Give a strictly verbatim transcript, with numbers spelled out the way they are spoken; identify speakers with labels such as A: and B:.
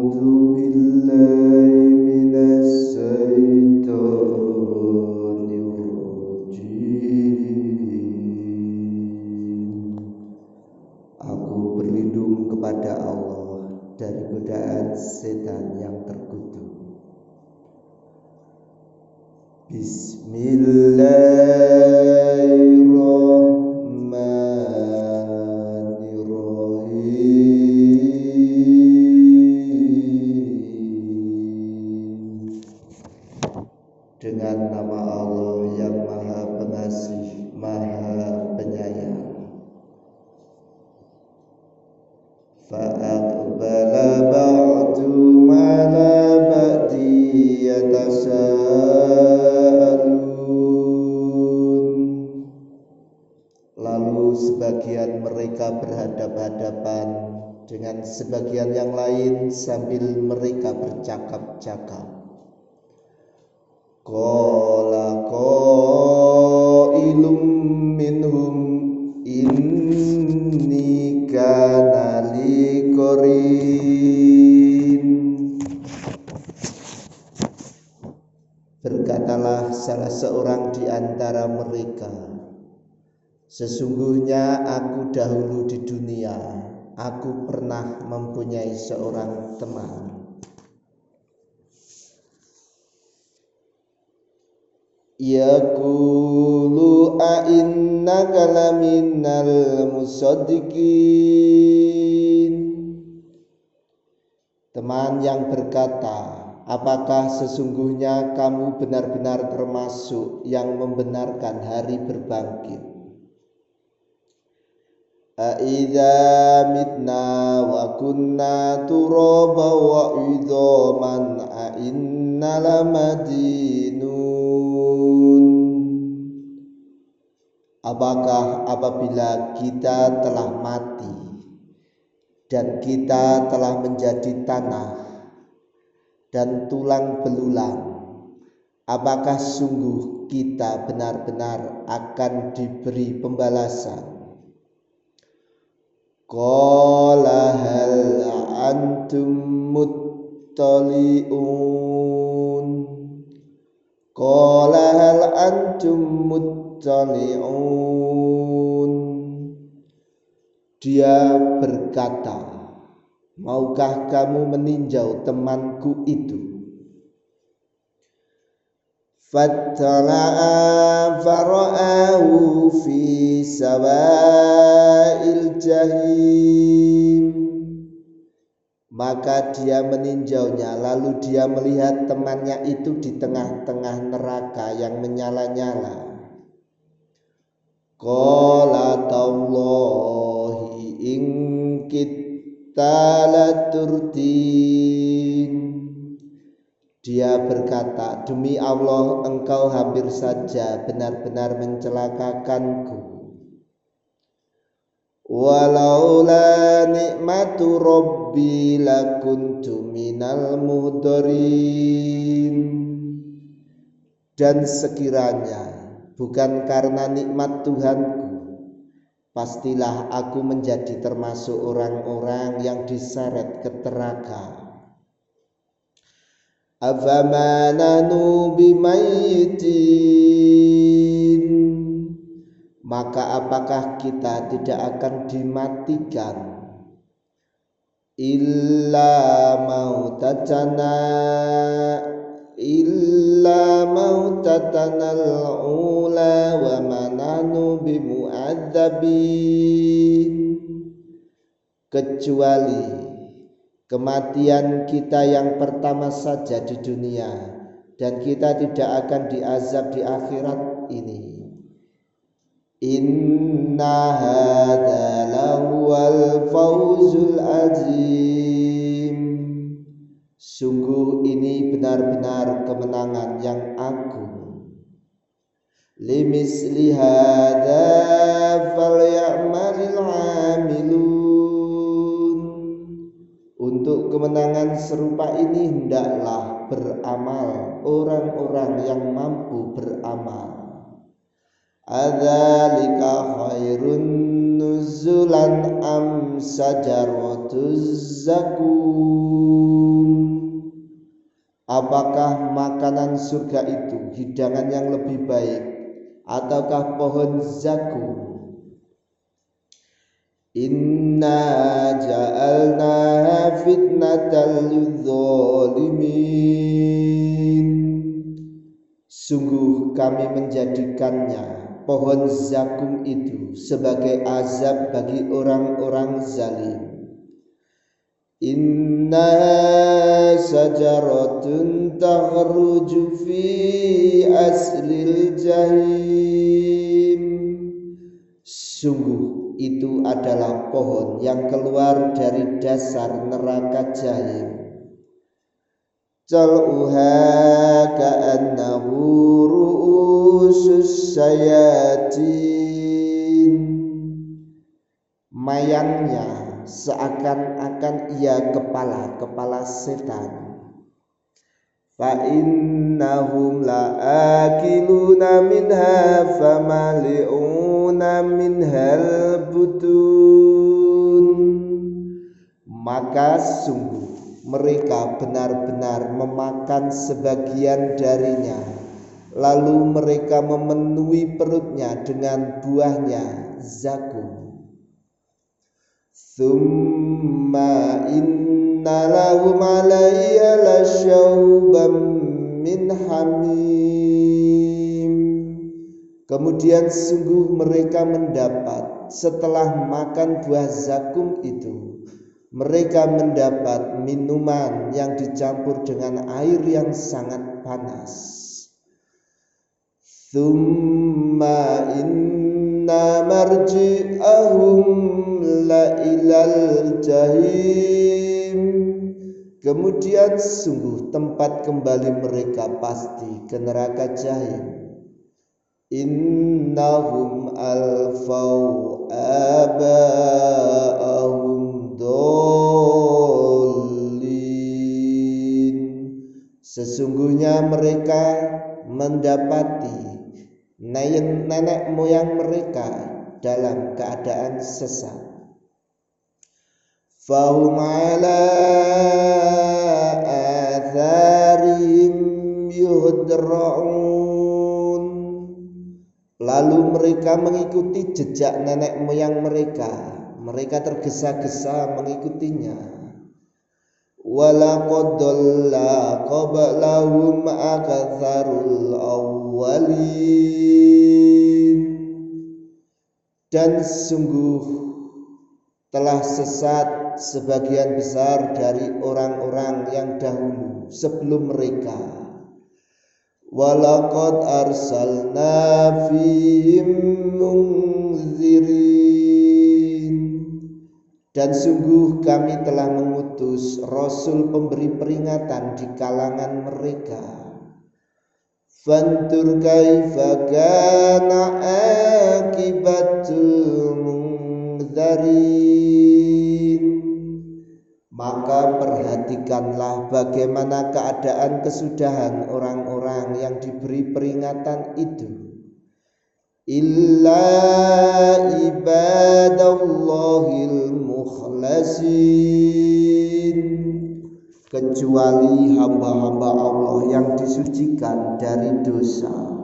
A: بالله من الشيطان الرجيم. Aku berlindung kepada Allah dari godaan setan yang terkutuk. Bismillahirrahmanirrahim. Dengan nama Allah yang Maha Pengasih, Maha Penyayang. Fa'aqbala ba'dum ala ba'di yatasa'alun. Lalu sebagian mereka berhadap-hadapan dengan sebagian yang lain sambil mereka bercakap-cakap. Qala qailum minhum inni kana li qarin. Berkatalah salah seorang di antara mereka, sesungguhnya aku dahulu di dunia, aku pernah mempunyai seorang teman. Yaqulu a innaka laminal musaddiqin. Teman yang berkata, apakah sesungguhnya kamu benar-benar termasuk yang membenarkan hari berbangkit? A idza mitna wa kunna turaba wa idzaman a inna lamadinun. Apakah apabila kita telah mati dan kita telah menjadi tanah dan tulang belulang, apakah sungguh kita benar-benar akan diberi pembalasan? Qala hal antum muttali'un. Qala hal antum muttali'un. Dia berkata, maukah kamu meninjau temanku itu? Fattala'a fara'ahu fi sawa'il jahim. Maka dia meninjaunya, lalu dia melihat temannya itu di tengah-tengah neraka yang menyala-nyala. Qala tallahi in kitta laturdin. Dia berkata, demi Allah engkau hampir saja benar-benar mencelakakanku. Walaula nikmatu rabbi lakuntu minal muhdarin. Dan sekiranya bukan karena nikmat Tuhanku, pastilah aku menjadi termasuk orang-orang yang diseret ke neraka. Afama nanu bimayitin. Maka apakah kita tidak akan dimatikan? Illa mautatana illa mautatana al-ula wa mananu bimu'adzabin. Kecuali kematian kita yang pertama saja di dunia, dan kita tidak akan diazab di akhirat ini. Inna hadza lahuwal fawzul azim. Sungguh ini benar-benar kemenangan yang agung. Limisli hadza falyamalil amilun. Untuk kemenangan serupa ini hendaklah beramal orang-orang yang mampu beramal. Adzalika khairun nuzul. 'Nuzul. 'Nuzulan am sajaratuz zakum. Apakah makanan surga itu hidangan yang lebih baik ataukah pohon zakum? Inna ja'alna fitnatal lidzalimin. Sungguh kami menjadikannya pohon zakum itu sebagai azab bagi orang-orang zalim. Inna sajaratun takhruju fi aslil jahim. Sungguh itu adalah pohon yang keluar dari dasar neraka jahim. Tal'uha ka'annahu ru'usus sayatin. Mayangnya seakan-akan ia kepala-kepala setan. Fa innahum la'akiluna minha famali'una minhal butun. Maka sungguh mereka benar-benar memakan sebagian darinya, lalu mereka memenuhi perutnya dengan buahnya zakum. Thumma inna lahum alaiya lasyauban min hamim. Kemudian sungguh mereka mendapat setelah makan buah zakum itu, mereka mendapat minuman yang dicampur dengan air yang sangat panas. Thumma inna marji'ahum la ilal jahim. Kemudian sungguh tempat kembali mereka pasti ke neraka jahim. Innahum alfau aba'ahum dolin. Sesungguhnya mereka mendapati nenek moyang mereka dalam keadaan sesat. Fahum ala atharihim yuhdra'un. Lalu mereka mengikuti jejak nenek moyang mereka. Mereka tergesa-gesa mengikutinya. Walaqad dhalla qablahum aktsarul awwalin. Dan sungguh telah sesat sebagian besar dari orang-orang yang dahulu sebelum mereka. Walaqad arsalna fihim munzirin. Dan sungguh kami telah mengutus rasul pemberi peringatan di kalangan mereka. Fantur kaifa kana akibatul munzirin. Maka perhatikanlah bagaimana keadaan kesudahan orang-orang yang diberi peringatan itu. Illa ibadallahil mukhlasin. Kecuali hamba-hamba Allah yang disucikan dari dosa.